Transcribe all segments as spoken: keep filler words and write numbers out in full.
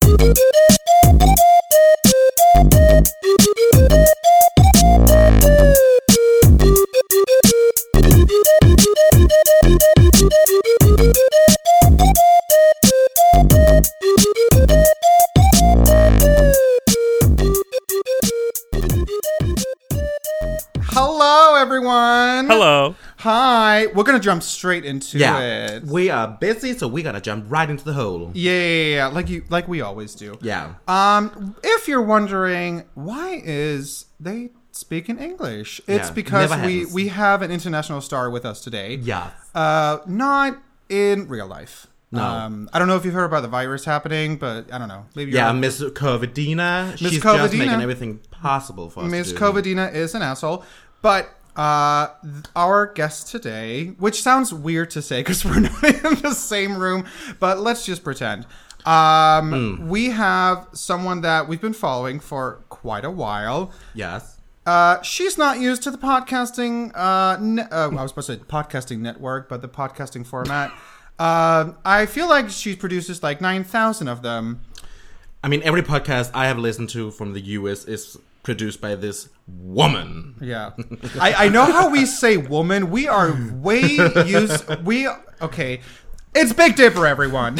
Hello, everyone. Hello. Hi. We're going to jump straight into yeah. it. We are busy, so we got to jump right into the hole. Yeah, yeah, yeah, like you, like we always do. Yeah. Um, if you're wondering, why is they speaking English? It's Yeah, because never we, happens. we have an international star with us today. Yeah. Uh, not in real life. No. Um, I don't know if you've heard about the virus happening, but I don't know. Maybe Yeah, you're Miss Covidina. Miss She's Covidina. just making everything possible for us Miss to do. Covidina is an asshole. But uh, th- our guest today, which sounds weird to say because we're not in the same room, but let's just pretend. Um, Mm. We have someone that we've been following for quite a while. Yes. Uh, she's not used to the podcasting. Uh, ne- uh, I was supposed to say podcasting network, but the podcasting format. Uh, I feel like she produces like nine thousand of them. I mean, every podcast I have listened to from the U S is produced by this woman. Yeah. I, I know how we say woman. We are way used. We, okay. It's Big Dipper, everyone.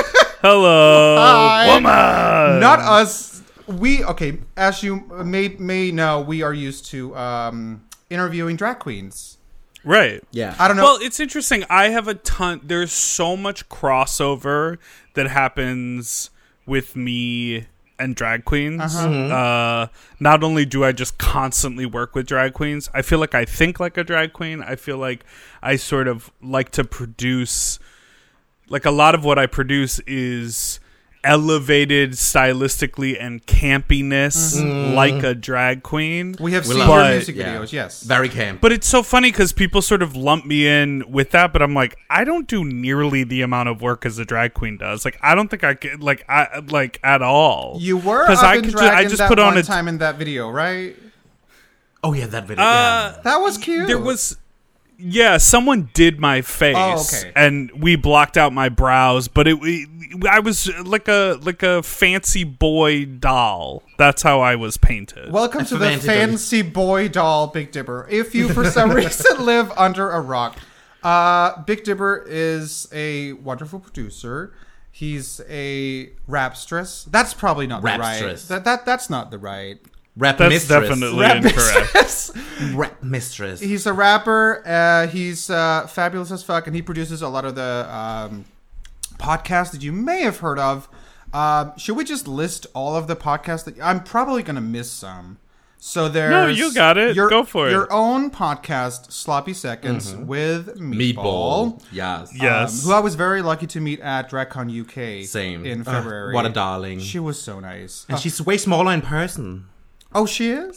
Hello. Hi. Woman. Not us. We, okay, as you may, may know, we are used to um, interviewing drag queens. Right. Yeah. I don't know. Well, it's interesting. I have a ton. There's so much crossover that happens with me and drag queens. Uh-huh. Uh, not only do I just constantly work with drag queens, I feel like I think like a drag queen. I feel like I sort of like to produce, like a lot of what I produce is elevated stylistically and campiness Mm-hmm. like a drag queen. we have we seen love your it. music Yeah. videos, yes. Very camp. But it's so funny because people sort of lump me in with that, but I'm like, I don't do nearly the amount of work as a drag queen does. Like, I don't think I could, like, I like at all. You were 'Cause up I in could ju- drag I in just that put on one a- time in that video, right? Oh, yeah, that video. Uh, yeah. That was cute. There was, yeah, someone did my face, Oh, okay. and we blocked out my brows, but it, we, I was like a like a fancy boy doll. That's how I was painted. Welcome to the Fancy fancy boy doll Big Dipper. If you for some reason live under a rock, uh, Big Dipper is a wonderful producer. He's a rapstress. That's probably not the right. Rapstress. That that that's not the right. Rap That's mistress. definitely Rap incorrect. mistress. Rap mistress. He's a rapper. Uh, he's uh, fabulous as fuck, and he produces a lot of the um, podcasts that you may have heard of. Um, should we just list all of the podcasts that I'm probably gonna miss some? So there's No, you got it. Your, Go for it. Your own podcast, Sloppy Seconds, with Meatball. Meatball. Yes. Yes. Um, who I was very lucky to meet at DragCon U K. Same. In Ugh, February. what a darling. She was so nice. And Uh, she's way smaller in person. oh, she is?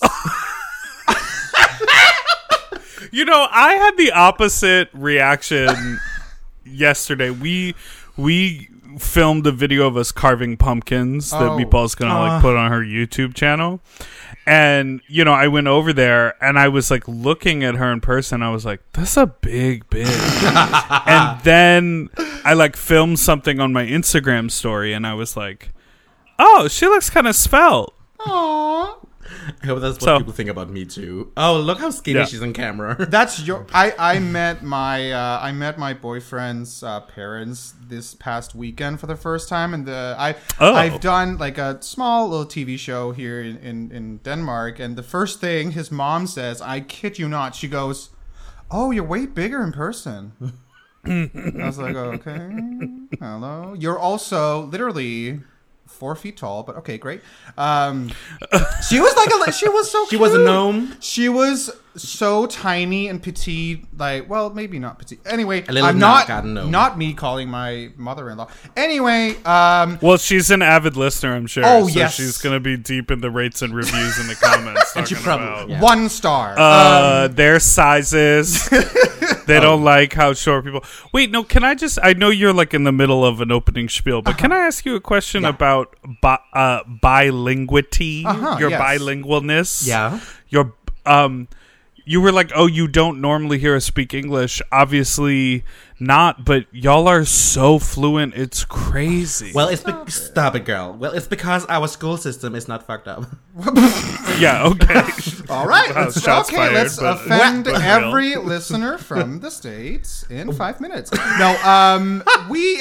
You know, I had the opposite reaction yesterday. We we filmed a video of us carving pumpkins that Oh. Meatball's gonna like Uh. put on her YouTube channel. And, you know, I went over there and I was like looking at her in person. I was like, that's a big bitch. And then I like filmed something on my Instagram story and I was like, oh, she looks kind of svelte. Aww. I hope that's what So- people think about me too. Oh, look how skinny Yeah. she's on camera. That's your. I I met my uh, I met my boyfriend's uh, parents this past weekend for the first time, and the I Oh. I've done like a small little T V show here in, in in Denmark, and the first thing his mom says, I kid you not, she goes, "Oh, you're way bigger in person." I was like, okay, hello. You're also literally four feet tall, but okay, great. Um, she was like a, she was so She was a cute. gnome. She was so tiny and petite, like, well, maybe not petite. Anyway, A little I'm not knockout gnome. not me calling my mother-in-law. Anyway, um, Well, she's an avid listener, I'm sure. Oh, so yes. she's going to be deep in the rates and reviews in the comments. And she talking probably- about, yeah. one star. uh, um, their sizes. They don't like how short people. Wait, no. Can I just? I know you're like in the middle of an opening spiel, but can I ask you a question Yeah. about bi- uh, bilinguity? Uh-huh, your yes. bilingualness. Yeah. Your um. you were like, oh, you don't normally hear us speak English. Obviously not, but y'all are so fluent. It's crazy. Well, it's be- stop it, girl. Well, it's because our school system is not fucked up. Yeah, okay. All right. Wow, let's, shots okay, fired, let's but- offend but real. every listener from the States in five minutes. No, um, we,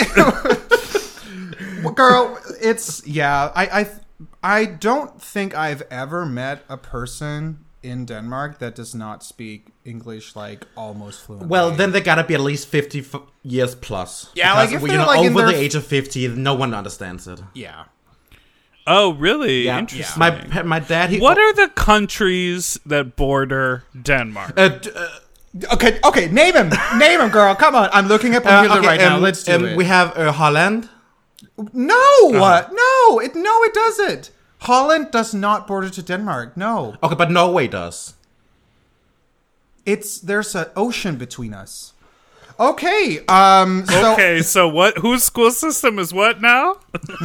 girl, it's yeah. I, I, I don't think I've ever met a person in Denmark that does not speak English like almost fluently. Well, then they gotta be at least fifty f- years plus. Yeah, Because, like, if you they're, know, like, in over their- the age of fifty, no one understands it. yeah. Oh, really? Yeah, Interesting. My pa- my dad. He, What are the countries that border Denmark? Uh, d- uh, Okay, okay, name him, name him, girl. Come on, I'm looking up uh, on Hitler okay, right now. um, Let's do um, it. We have uh, Holland. No, Uh-huh. no, it no, it doesn't. Holland does not border to Denmark. No, Okay, but Norway does. it's there's an ocean between us. Okay, um, so Okay, so what? Whose school system is what now?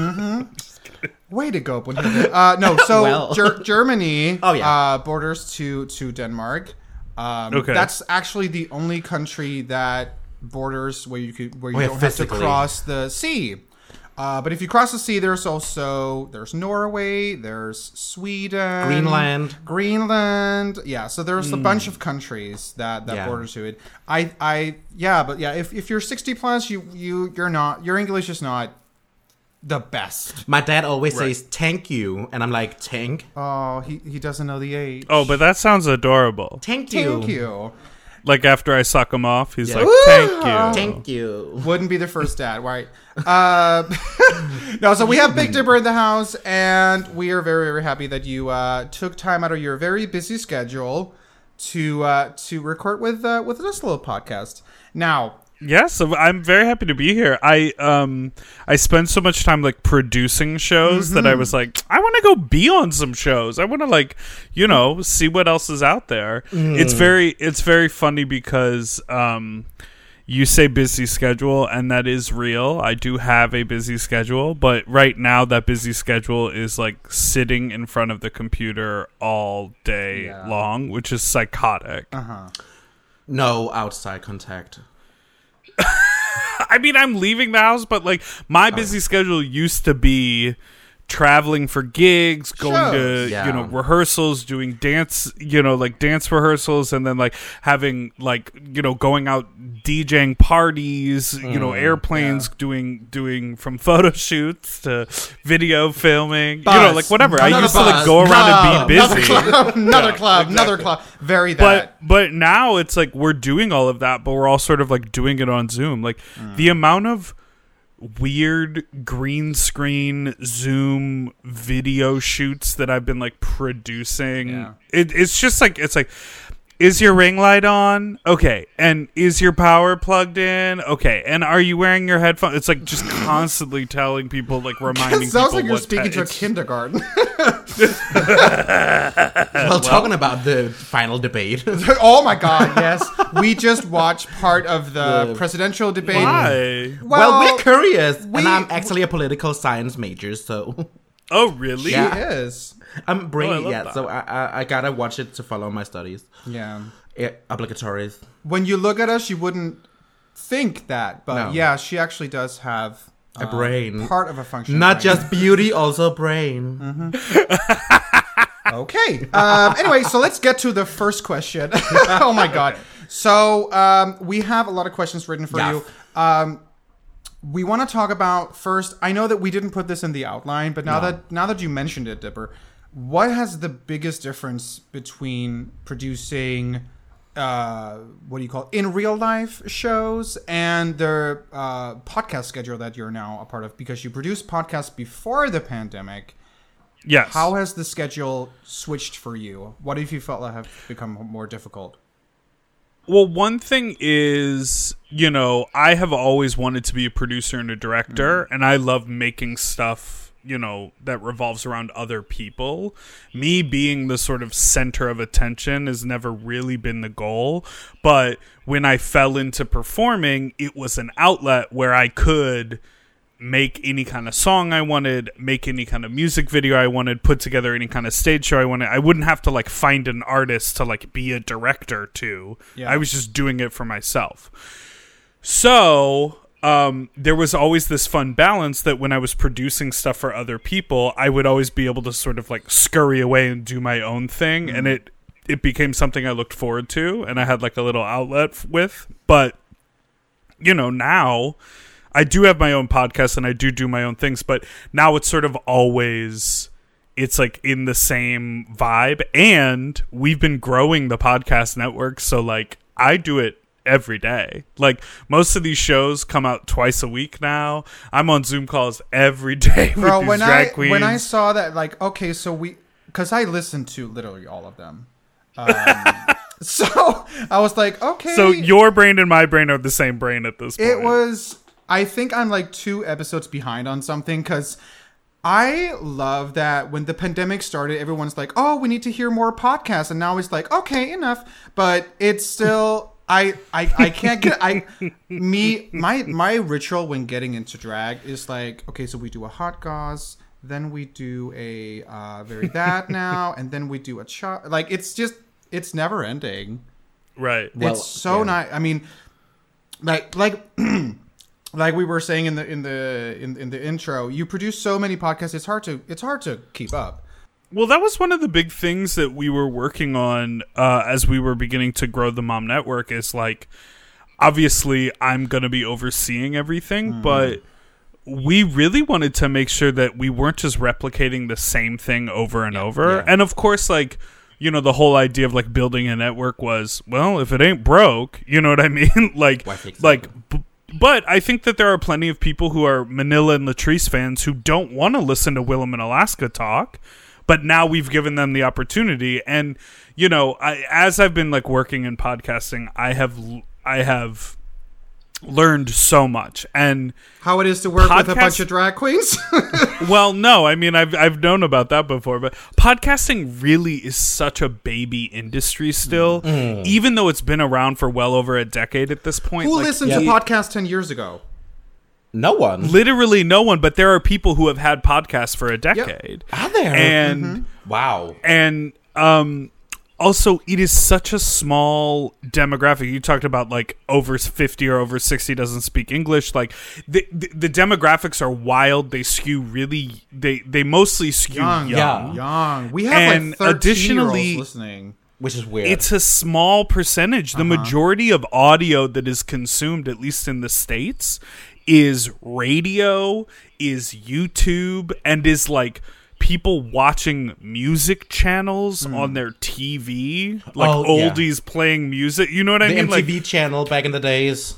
way to go, Brunhilde. Uh, no, so Well. Ger- Germany, Oh, yeah. uh, borders to to Denmark. Um, Okay. that's actually the only country that borders where you could where you Oh, yeah, don't have to physically. cross the sea. Uh, but if you cross the sea, there's also there's Norway, there's Sweden, Greenland. Greenland. Yeah, so there's a bunch of countries that that Yeah. border to it. I I yeah, but yeah, if if you're sixty plus, you you you're not your English is not the best. My dad always Right. says "thank you," and I'm like, "Tank, Oh, he he doesn't know the age. Oh, but that sounds adorable. thank you, Thank you. Like after I suck him off, he's Yeah. like, Woo! "Thank you." thank you." Wouldn't be the first dad, right? Uh, no, so we have Big Dipper in the house, and we are very, very happy that you uh, took time out of your very busy schedule to uh, to record with uh, with this little podcast. Now, Yes, I'm very happy to be here. I um I spend so much time like producing shows that I was like, I want to go be on some shows. I want to like, you know, see what else is out there. It's very it's very funny because um you say busy schedule, and that is real. I do have a busy schedule, but right now that busy schedule is like sitting in front of the computer all day Yeah. long, which is psychotic. uh huh. No outside contact. I mean, I'm leaving the house, but like my busy schedule used to be traveling for gigs, going to, Shows. Yeah. you know, rehearsals, doing dance, you know, like dance rehearsals, and then like having like, you know, going out DJing parties, you know, airplanes, yeah. doing, doing from photo shoots to video filming, you Buzz. know, like whatever. I Another used to like buzz. go around No. and be busy. Another club, another Yeah, club, another exactly. club. Very that. But but now it's like we're doing all of that, but we're all sort of like doing it on Zoom. Like the amount of weird green screen Zoom video shoots that I've been like producing. Yeah. It, it's just like it's like, is your ring light on? Okay. And is your power plugged in? Okay. And are you wearing your headphones? It's like just constantly telling people, like reminding it sounds people like you're what speaking te- to a it's- kindergarten. Well, talking about the final debate. Oh my God! Yes, we just watched part of the, The- presidential debate. Why? well, we're curious, we- and I'm actually a political science major, so Oh, really? She Yeah. is. I'm bringing love it. that. So I, I I gotta watch it to follow my studies. Yeah. Yeah, obligatories. When you look at us, you wouldn't think that, but No. yeah, she actually does have A um, brain. part of a function. Not brain. just beauty, also brain. Okay. Um, anyway, so let's get to the first question. Oh my God. So um, we have a lot of questions written for Yeah. you. Um, we want to talk about first. I know that we didn't put this in the outline, but now No. that now that you mentioned it, Dipper, what has the biggest difference between producing, uh, what do you call it, in real life shows and the uh, podcast schedule that you're now a part of? Because you produced podcasts before the pandemic. Yes. How has the schedule switched for you? What have you felt like have become more difficult? Well, one thing is, you know, I have always wanted to be a producer and a director, and I love making stuff, you know, that revolves around other people. Me being the sort of center of attention has never really been the goal, but when I fell into performing, it was an outlet where I could make any kind of song I wanted, make any kind of music video I wanted, put together any kind of stage show I wanted. I wouldn't have to like find an artist to like be a director to. Yeah. I was just doing it for myself. So um, there was always this fun balance that when I was producing stuff for other people, I would always be able to sort of like scurry away and do my own thing. Mm-hmm. And it, it became something I looked forward to and I had like a little outlet f- with. But, you know, now I do have my own podcast and I do do my own things, but now it's sort of always, it's like in the same vibe. And we've been growing the podcast network. So like I do it every day. Like most of these shows come out twice a week now. I'm on Zoom calls every day with Bro, these when drag I, queens. when I saw that, like, okay, so we, because I listened to literally all of them. Um, so I was like, okay. So your brain and my brain are the same brain at this point. It was, I think I'm like two episodes behind on something because I love that when the pandemic started, everyone's like, oh, we need to hear more podcasts. And now it's like, okay, enough. But it's still, I, I, I can't get, I, me, my, my ritual when getting into drag is like, okay, so we do a hot gauze, then we do a uh, very that now, and then we do a chop. Like, it's just, it's never ending. Right. Well, it's so yeah. nice. I mean, like, like, like we were saying in the in the in, in the intro, you produce so many podcasts. It's hard to it's hard to keep up. Well, that was one of the big things that we were working on uh, as we were beginning to grow the Mom Network. Is like, obviously, I'm going to be overseeing everything, mm. but we really wanted to make sure that we weren't just replicating the same thing over and yeah, over. Yeah. And of course, like, you know, the whole idea of like building a network was, well, if it ain't broke, you know what I mean? like, like, b- but I think that there are plenty of people who are Manila and Latrice fans who don't want to listen to Willem and Alaska talk, but now we've given them the opportunity. And, you know, I, as I've been like working in podcasting, I have, I have learned so much. And how it is to work podcast- with a bunch of drag queens. Well, no, I mean, I've I've known about that before, but podcasting really is such a baby industry still, mm. even though it's been around for well over a decade at this point. Who like, listened yeah. to podcasts ten years ago? No one. Literally no one, but there are people who have had podcasts for a decade. Yep. Are there? And mm-hmm. wow. And um also, it is such a small demographic. You talked about like over fifty or over sixty doesn't speak English. Like the the, the demographics are wild. They skew really. They they mostly skew young. Young. Yeah. young. We have And like thirteen additionally, year olds listening. Which is weird. It's a small percentage. The Uh-huh. majority of audio that is consumed, at least in the States, is radio, is YouTube, and is like people watching music channels mm. on their T V, like oh, oldies yeah. playing music. You know what I the mean? M T V like, channel back in the days.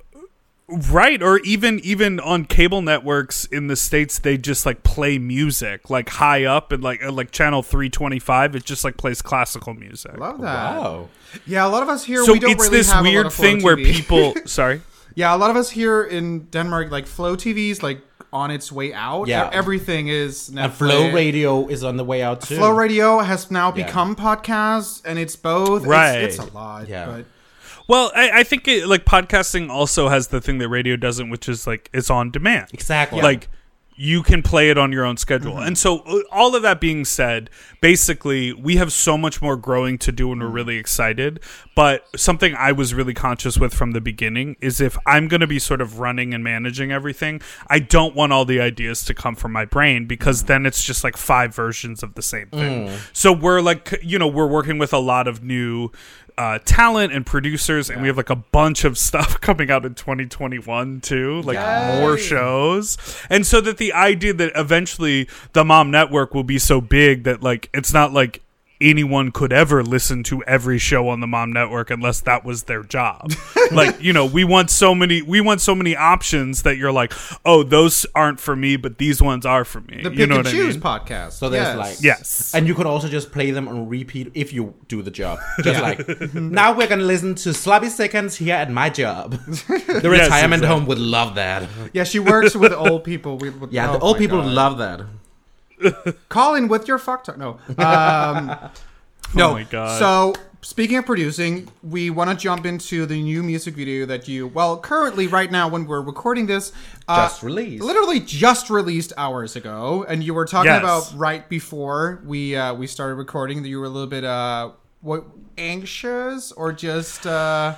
Right, or even even on cable networks in the States, they just like play music like high up and like uh, like channel three twenty-five. It just like plays classical music. Love that. Wow. Yeah, a lot of us here. So we don't it's really this have a lot weird of Flow thing where T V. people. Sorry. Yeah, a lot of us here in Denmark, like Flow T V's like on its way out. Yeah. Everything is Netflix. And Flow Radio is on the way out too. Flow Radio has now Yeah. become podcasts, and it's both. Right. It's, it's a lot. Yeah. But Well, I, I think it, like podcasting also has the thing that radio doesn't, which is like it's on demand. Exactly. Like you can play it on your own schedule. Mm-hmm. And so uh, all of that being said, basically we have so much more growing to do and we're really excited. But something I was really conscious with from the beginning is if I'm going to be sort of running and managing everything, I don't want all the ideas to come from my brain because then it's just like five versions of the same thing. Mm. So we're like, you know, we're working with a lot of new Uh, talent and producers, and yeah. we have like a bunch of stuff coming out in twenty twenty-one too, like Yay. more shows. And so that the idea that eventually the Mom Network will be so big that like it's not like anyone could ever listen to every show on the Mom Network unless that was their job. Like, you know, we want so many we want so many options that you're like, oh, those aren't for me, but these ones are for me. The Pick you know and what Choose I mean? podcast. So there's yes. like yes, and you could also just play them on repeat if you do the job. Just like now we're gonna listen to Sloppy Seconds here at my job. The yes, retirement exactly. home would love that. Yeah, she works with old people. We, with, yeah, oh the old people God. love that. Call in with your fuck talk. No. Um, no. Oh my God. So speaking of producing, we want to jump into the new music video that you, well, currently, right now, when we're recording this, uh, Just released. literally just released hours ago, and you were talking Yes. about right before we uh, we started recording that you were a little bit uh, what anxious or just. Uh,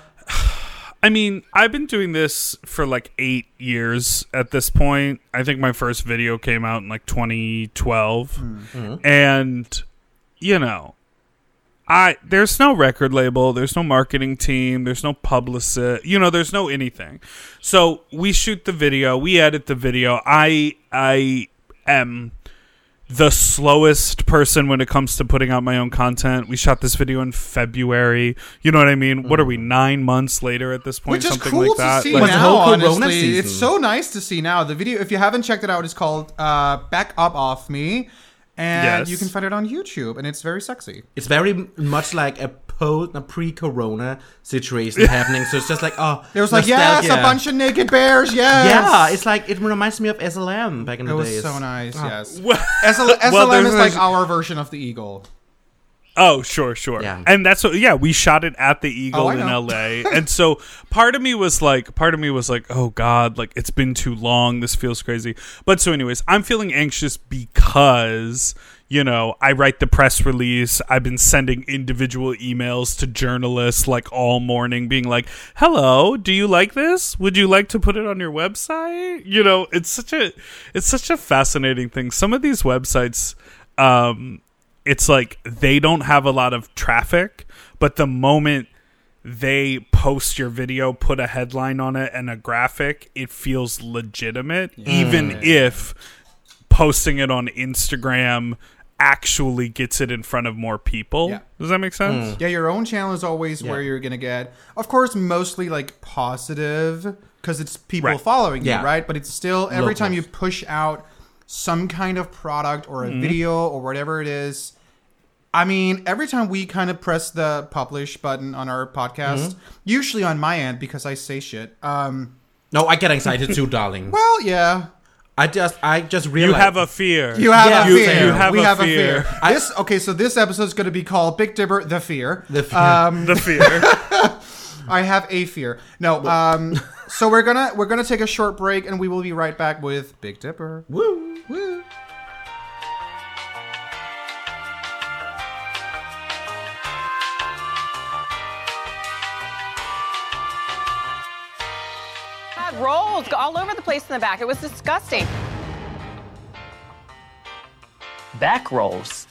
I mean, I've been doing this for like eight years at this point. I think my first video came out in like twenty twelve. Mm-hmm. And, you know, I there's no record label, there's no marketing team, there's no publicist, you know, there's no anything. So we shoot the video, we edit the video. I I am the slowest person when it comes to putting out my own content. We shot this video in February. You know what I mean? Mm. What are we, nine months later at this point? Which is something cool like that. to see Like, now, the whole Corona honestly. season. It's so nice to see now. The video, if you haven't checked it out, is called uh, Back Up Off Me. And Yes. you can find it on YouTube, and it's very sexy. It's very m- much like a post, a pre-corona situation happening. So it's just like, oh, It was like, yes, a nostalgia. bunch of naked bears, yes. Yeah, it's like it reminds me of S L M back in It the was days. so nice, yes. Well- S L- S L M well, is there's- like our version of the Eagle. Oh, sure, sure. Yeah. And that's what, yeah, we shot it at the Eagle Oh, I in know. L A. And so part of me was like, part of me was like, oh God, like it's been too long. This feels crazy. But so anyways, I'm feeling anxious because, you know, I write the press release. I've been sending individual emails to journalists like all morning being like, hello, do you like this? Would you like to put it on your website? You know, it's such a, it's such a fascinating thing. Some of these websites, um, it's like they don't have a lot of traffic, but the moment they post your video, put a headline on it and a graphic, it feels legitimate, even if posting it on Instagram actually gets it in front of more people. Yeah. Does that make sense? Yeah, your own channel is always Yeah. where you're going to get, of course, mostly like positive because it's people Right. following Yeah. you, right? But it's still, every time you Locals. push out some kind of product or a video or whatever it is, I mean, every time we kind of press the publish button on our podcast, usually on my end because I say shit. Um, No, I get anxiety too, darling. well, yeah, I just, I just You realized have a fear. you have Yeah, a you- fear. you have we a have fear. a fear. This okay, so this episode is going to be called Big Dipper: The Fear. The fear. Um, the fear. I have a fear. No, um, so we're gonna we're gonna take a short break, and we will be right back with Big Dipper. Woo, woo. Had rolls all over the place in the back. It was disgusting. Back rolls.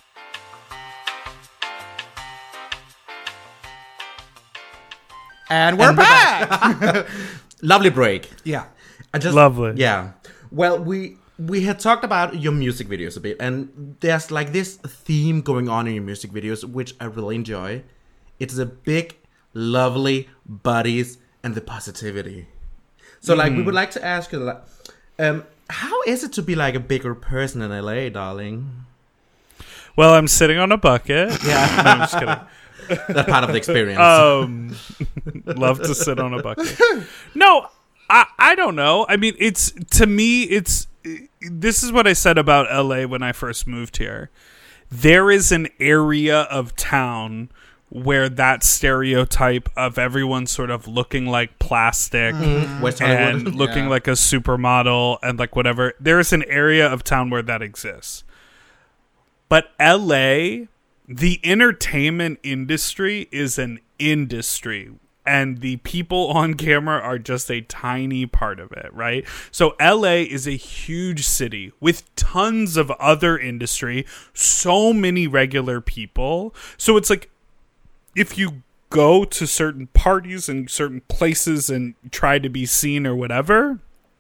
And we're And we're back. Lovely break. Yeah. I just Lovely. Yeah. Well, we we had talked about your music videos a bit, and there's like this theme going on in your music videos, which I really enjoy. It's the big, lovely buddies and the positivity. So, like, we would like to ask you, like, um, how is it to be like a bigger person in L A, darling? Well, I'm sitting on a bucket. Yeah, No, I'm just kidding. that part of the experience. Um, love to sit on a bucket. No, I I don't know. I mean, it's to me, it's this is what I said about L A when I first moved here. There is an area of town where that stereotype of everyone sort of looking like plastic West Hollywood. and looking Yeah. like a supermodel and like whatever. There is an area of town where that exists. But L A, the entertainment industry is an industry, and the people on camera are just a tiny part of it, right? So L A is a huge city with tons of other industry, so many regular people. So it's like, if you go to certain parties and certain places and try to be seen or whatever,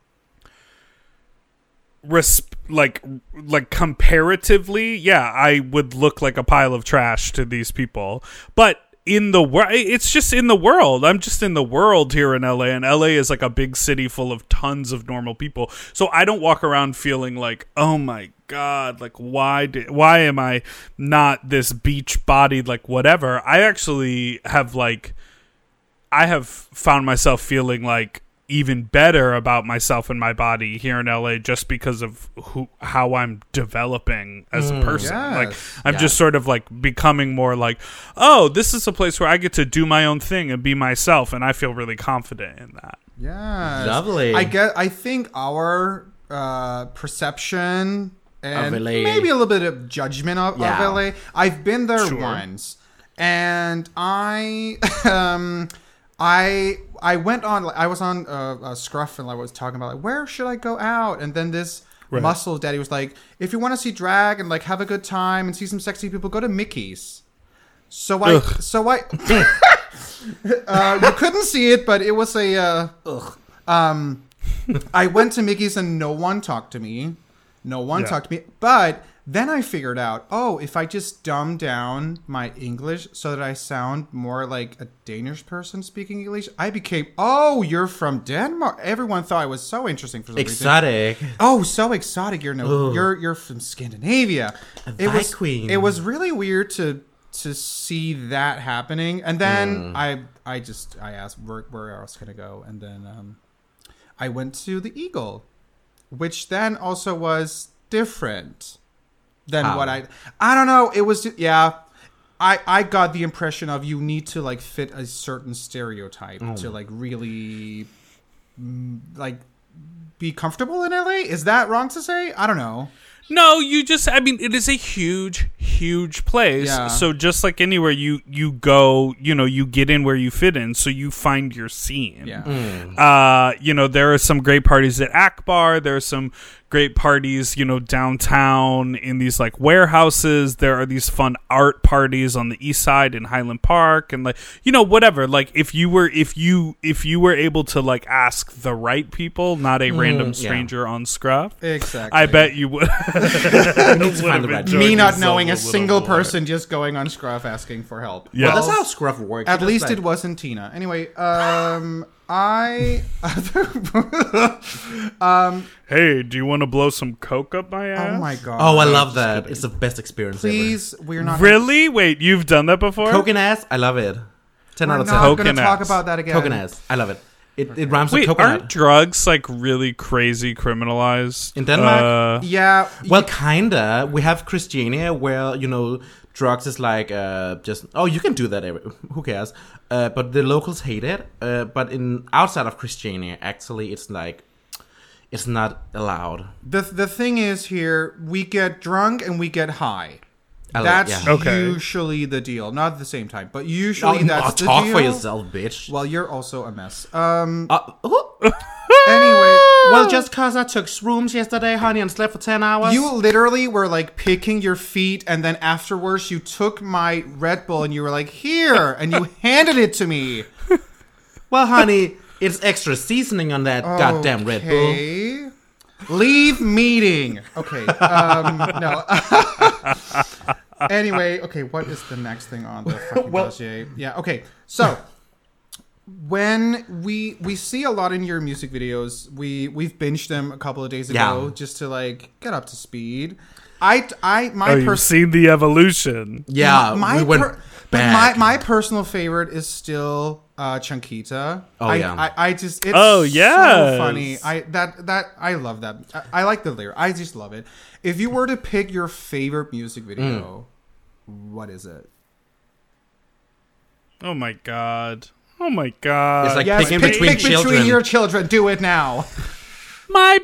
resp- like like comparatively, yeah, I would look like a pile of trash to these people. But in the world, it's just in the world. I'm just in the world here in L A, and L A is like a big city full of tons of normal people. So I don't walk around feeling like, oh my God, like why did why am I not this beach bodied like whatever? I actually have like I have found myself feeling like even better about myself and my body here in L A just because of who how I'm developing as a person. Yes. Like I'm Yeah. just sort of like becoming more like, oh, this is a place where I get to do my own thing and be myself, and I feel really confident in that. Yes. Lovely. I get. I think our uh, perception and Of L A. maybe a little bit of judgment of, Yeah. of L A. I've been there Sure. once, and I, um, I, I went on. I was on uh, a Scruff, and I was talking about like, where should I go out, and then this. Right. Muscle Daddy was like, if you want to see drag and like have a good time and see some sexy people, go to Mickey's. So I, Ugh. so I, uh, you couldn't see it, but it was a, uh, ugh. Um, I went to Mickey's and no one talked to me. No one Yeah. talked to me. But then I figured out, oh, if I just dumb down my English so that I sound more like a Danish person speaking English, I became, oh, you're from Denmark. Everyone thought I was so interesting for some reason. Exotic. Oh, so exotic! You're no, Ugh. you're you're from Scandinavia. A It was Viking. it was really weird to to see that happening, and then Mm. I I just I asked where where else can I go, and then um, I went to the Eagle, which then also was different than How? what I I don't know. It was yeah. I, I got the impression of you need to like fit a certain stereotype Oh. to like really mm, like be comfortable in L A. Is that wrong to say? I don't know. No, you just, I mean, it is a huge, huge place. Yeah. So just like anywhere, you, you go, you know, you get in where you fit in. So you find your scene. Yeah. Uh, you know, there are some great parties at Akbar. There are some great parties, you know, downtown in these like warehouses. There are these fun art parties on the east side in Highland Park, and like, you know, whatever. Like if you were, if you, if you were able to like ask the right people, not a random yeah. stranger on Scruff, Exactly. I bet you would. You need to find the right. me not yourself knowing a a little single more. person just going on Scruff asking for help. Yeah. Well, that's how Scruff works. At You just, least like- it wasn't Tina. Anyway, um, I. um. Hey, do you want to blow some coke up my ass? Oh my god. Oh, I love that. It's the best experience Please, we're not. Really? Wait, you've done that before? ever. Coke and ass, I love it. ten We're out of not ten. Coke going and to talk ass. about that again. Coke and ass, I love it. It, it rhymes Wait, with coconut. aren't drugs like really crazy criminalized In Denmark? Uh, Yeah. Well, kinda. We have Christiania, where you know drugs is like uh, just oh, you can do that. Every, who cares? Uh, but the locals hate it. Uh, but in outside of Christiania, actually, it's like it's not allowed. The the thing is here, we get drunk and we get high. I like- That's yeah. Okay. usually the deal. Not at the same time, but usually Oh, that's oh, the talk deal. for yourself, bitch. Well, you're also a mess. Um. Uh, oh. Anyway, Well, just cause I took shrooms yesterday, honey, and slept for ten hours. you literally were like picking your feet, and then afterwards you took my Red Bull and you were like, "Here," and you handed it to me. Well, honey, it's extra seasoning on that goddamn Red Bull. Okay. Leave meeting. Okay. Um. No. Anyway, okay, what is the next thing on the fucking Well- dossier? Yeah, okay. So when we we see a lot in your music videos, we we've binged them a couple of days ago Yeah. just to like get up to speed. I I my oh, you've pers- seen the evolution. Yeah, my we went per- but back. my my personal favorite is still uh Chunkita. Oh, I, yeah. I, I just it's Oh, so yes. funny. I that that I love that. I, I like the lyric. I just love it. If you were to pick your favorite music video, what is it? Oh my god. Oh my god. It's like Yes, picking pick, between pick children. between your children. Do it now. my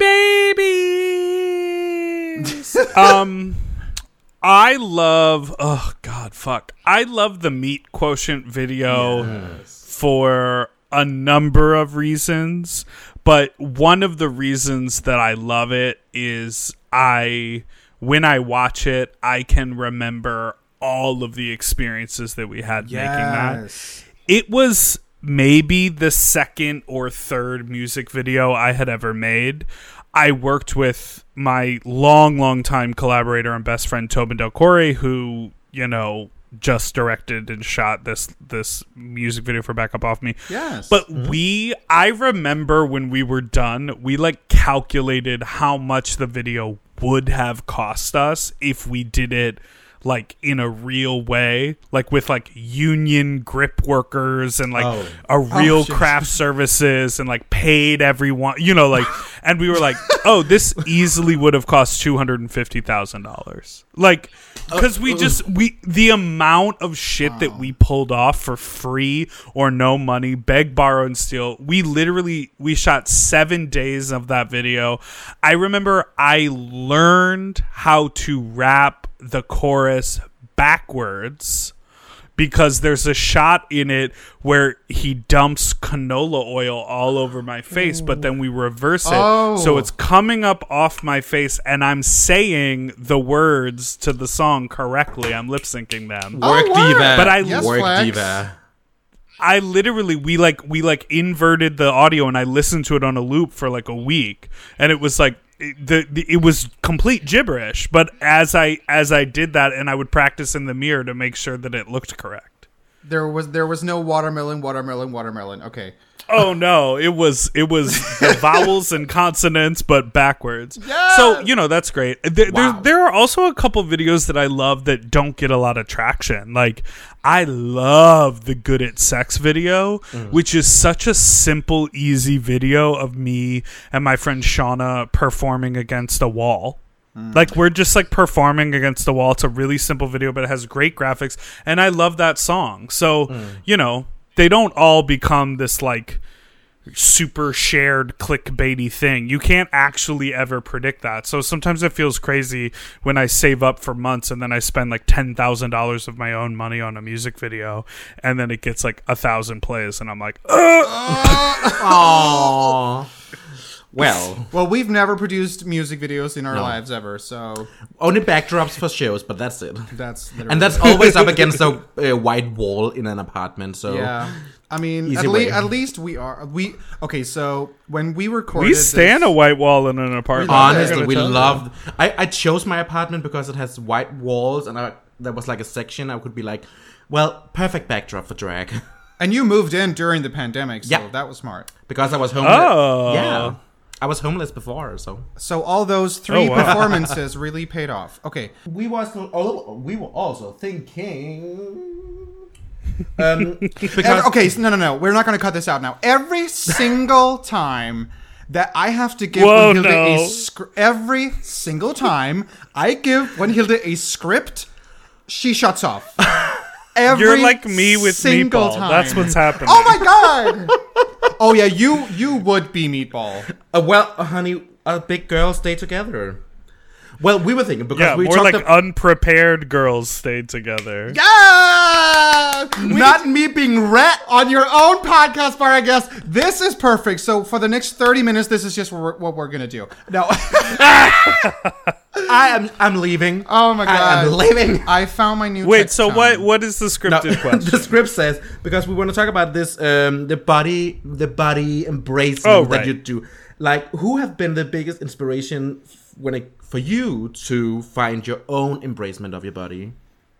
babies. um I love oh god fuck. I love the Meat Quotient video for a number of reasons, but one of the reasons that I love it is I when I watch it, I can remember all of the experiences that we had making that. It was maybe the second or third music video I had ever made. I worked with my long, long time collaborator and best friend Tobin Del Corey, who, you know, just directed and shot this this music video for Back Up Off Me. Yes. But we, I remember when we were done, we like calculated how much the video would have cost us if we did it like in a real way, like with like union grip workers and like Oh. a real Oh, shit. craft services and like paid everyone, you know, like, and we were like, oh, this easily would have cost two hundred fifty thousand dollars. Like, because we just, we, the amount of shit that we pulled off for free or no money, beg, borrow, and steal, we literally, we shot seven days of that video. I remember I learned how to rap the chorus backwards because there's a shot in it where he dumps canola oil all over my face, but then we reverse it. Oh. So it's coming up off my face and I'm saying the words to the song correctly. I'm lip syncing them. Oh, Work word. diva. But I- Yes, Work Flex. diva. I literally we like we like inverted the audio and I listened to it on a loop for like a week and it was like it, the, the it was complete gibberish, but as I as I did that and I would practice in the mirror to make sure that it looked correct. There was there was no watermelon, watermelon, watermelon. Okay. Oh no, it was it was the vowels and consonants but backwards. Yes! So, you know, that's great. There, Wow. there there are also a couple videos that I love that don't get a lot of traction. Like I love the Good at Sex video, which is such a simple, easy video of me and my friend Shauna performing against a wall. Like we're just like performing against the wall. It's a really simple video, but it has great graphics and I love that song. So, you know, they don't all become this like super shared clickbaity thing. You can't actually ever predict that. So sometimes it feels crazy when I save up for months and then I spend like ten thousand dollars of my own money on a music video and then it gets like a thousand plays and I'm like, ugh! Aww. Well, Well, we've never produced music videos in our lives ever, so only backdrops for shows, but that's it. that's literally And that's always up against a, a white wall in an apartment. So yeah. I mean, Easy at, le- way. at least we are we okay. So when we recorded, We stand this, a white wall in an apartment. honestly, I'm we gonna tell you. loved. I, I chose my apartment because it has white walls, and I, there was like a section I could be like, well, perfect backdrop for drag, and you moved in during the pandemic, so Yeah. that was smart. because I was homeless. Oh. Yeah, I was homeless before, so So all those three Oh, wow. performances really paid off. Okay, we was oh, we were also thinking. Um, because Every- okay, so no, no, no. We're not going to cut this out now. Every single time that I have to give Whoa, Winhilde no. a script, every single time I give Winhilde a script, she shuts off. Every You're like me with single Meatball. time. That's what's happening. Oh my god! Oh yeah, you you would be Meatball. Uh, well, uh, honey, uh, big girls stay together. Well, we were thinking because Yeah, we more talked like ab- unprepared girls stayed together. Yeah! Not me being rat on your own podcast bar, I guess. This is perfect. So for the next thirty minutes, this is just what we're, what we're gonna do. No. I am I'm leaving. Oh my I am god. leaving. I found my new Wait, text so tone. what? What is the scripted No, question? the script says because we want to talk about this um the body the body embracement Oh, that right. you do. Like, who have been the biggest inspiration f- when it for you to find your own embracement of your body?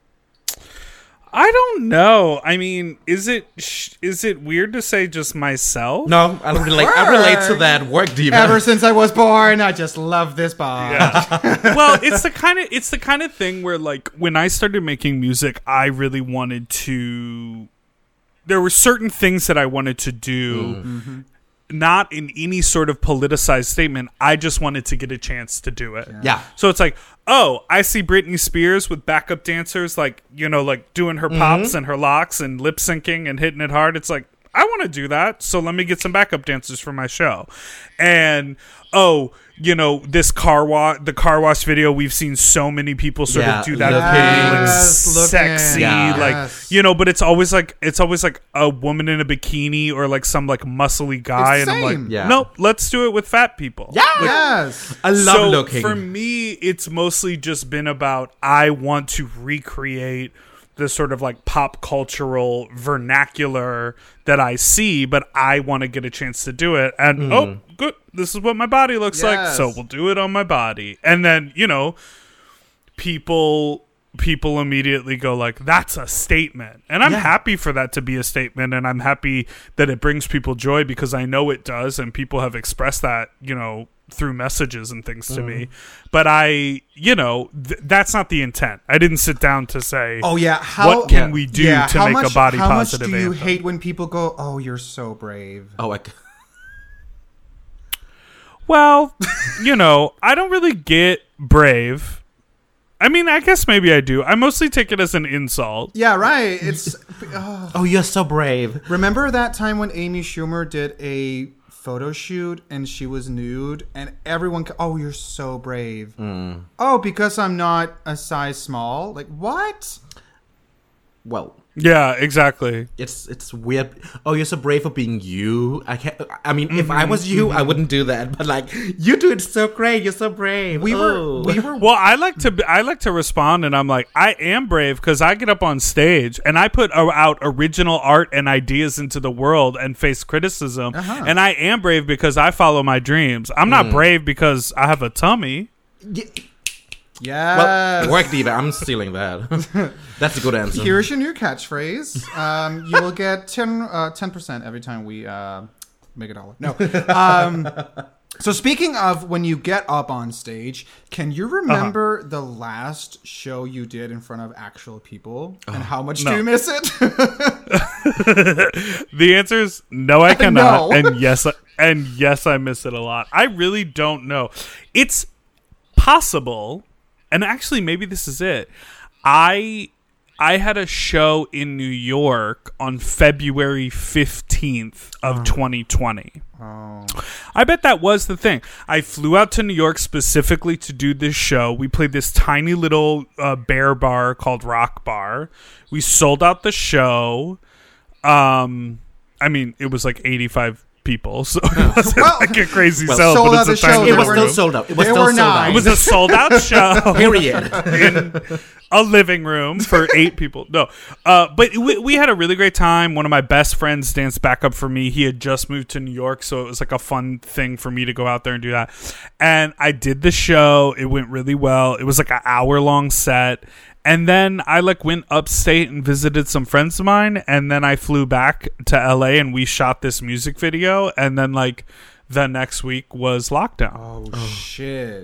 I don't know. I mean, is it sh- is it weird to say just myself? No, I relate. I relate to Work. that work diva. Ever since I was born, I just love this bar. Well, it's the kind of it's the kind of thing where like when I started making music, I really wanted to. There were certain things that I wanted to do. Not in any sort of politicized statement. I just wanted to get a chance to do it. Yeah. So it's like, oh, I see Britney Spears with backup dancers, like, you know, like doing her pops and her locks and lip syncing and hitting it hard. It's like, I want to do that. So let me get some backup dancers for my show. And, oh, you know, this car wash, the car wash video, we've seen so many people sort Yeah, of do that. look of being, like, Yes, look sexy, in. like, Yes. you know, but it's always like, it's always like a woman in a bikini or like some like muscly guy. It's And I'm same. like, Yeah. nope, let's do it with fat people. Yeah. Like, Yes. I love so looking. for me, it's mostly just been about I want to recreate the sort of like pop cultural vernacular that I see, but I want to get a chance to do it. And oh, good, this is what my body looks like, Yes. so we'll do it on my body. And then, you know, people people immediately go like, that's a statement. And I'm Yeah. happy for that to be a statement, and I'm happy that it brings people joy because I know it does, and people have expressed that, you know, through messages and things to me. But I, you know, th- that's not the intent. I didn't sit down to say, Oh yeah, how what can yeah. we do yeah, to how make much, a body how positive much do you anthem? hate when people go, "Oh, you're so brave"? Oh, I. c- Well, you know, I don't really get brave. I mean, I guess maybe I do. I mostly take it as an insult. Yeah, right. It's oh. Oh, you're so brave. Remember that time when Amy Schumer did a photo shoot and she was nude and everyone ca- oh, you're so brave. Mm. Oh, because I'm not a size small? Like, what? Well, Yeah, exactly. it's it's weird. Oh, you're so brave for being you. I can't. I mean, if Mm-hmm, I was you, I wouldn't do that. But like, you do it so great. You're so brave. We Oh. were we were Well, I like to I like to respond, and I'm like, I am brave because I get up on stage and I put o- out original art and ideas into the world and face criticism. Uh-huh. And I am brave because I follow my dreams. I'm not brave because I have a tummy. Yes. Well, work, Diva. I'm stealing that. That's a good answer. Here's your new catchphrase. Um, you will get ten percent every time we uh, make a dollar. No. Um, so speaking of when you get up on stage, can you remember the last show you did in front of actual people, and how much no. do you miss it? The answer is no, I cannot, No. and yes, I- and yes, I miss it a lot. I really don't know. It's possible, and actually, maybe this is it. I I had a show in New York on February fifteenth of twenty twenty. Oh. I bet that was the thing. I flew out to New York specifically to do this show. We played this tiny little uh, bear bar called Rock Bar. We sold out the show. Um, I mean, it was like eighty-five people, so it wasn't Well, like a crazy well, sell, sold but out it's a the show, tiny It there was were- little still room. sold out. It was there still were sold nine. out. It was a sold out show. Period. in a living room for eight people. No, uh, but we, we had a really great time. One of my best friends danced back up for me. He had just moved to New York, so it was like a fun thing for me to go out there and do that. And I did the show. It went really well. It was like an hour long set. And then I like went upstate and visited some friends of mine. And then I flew back to L A and we shot this music video. And then like the next week was lockdown. Oh, shit.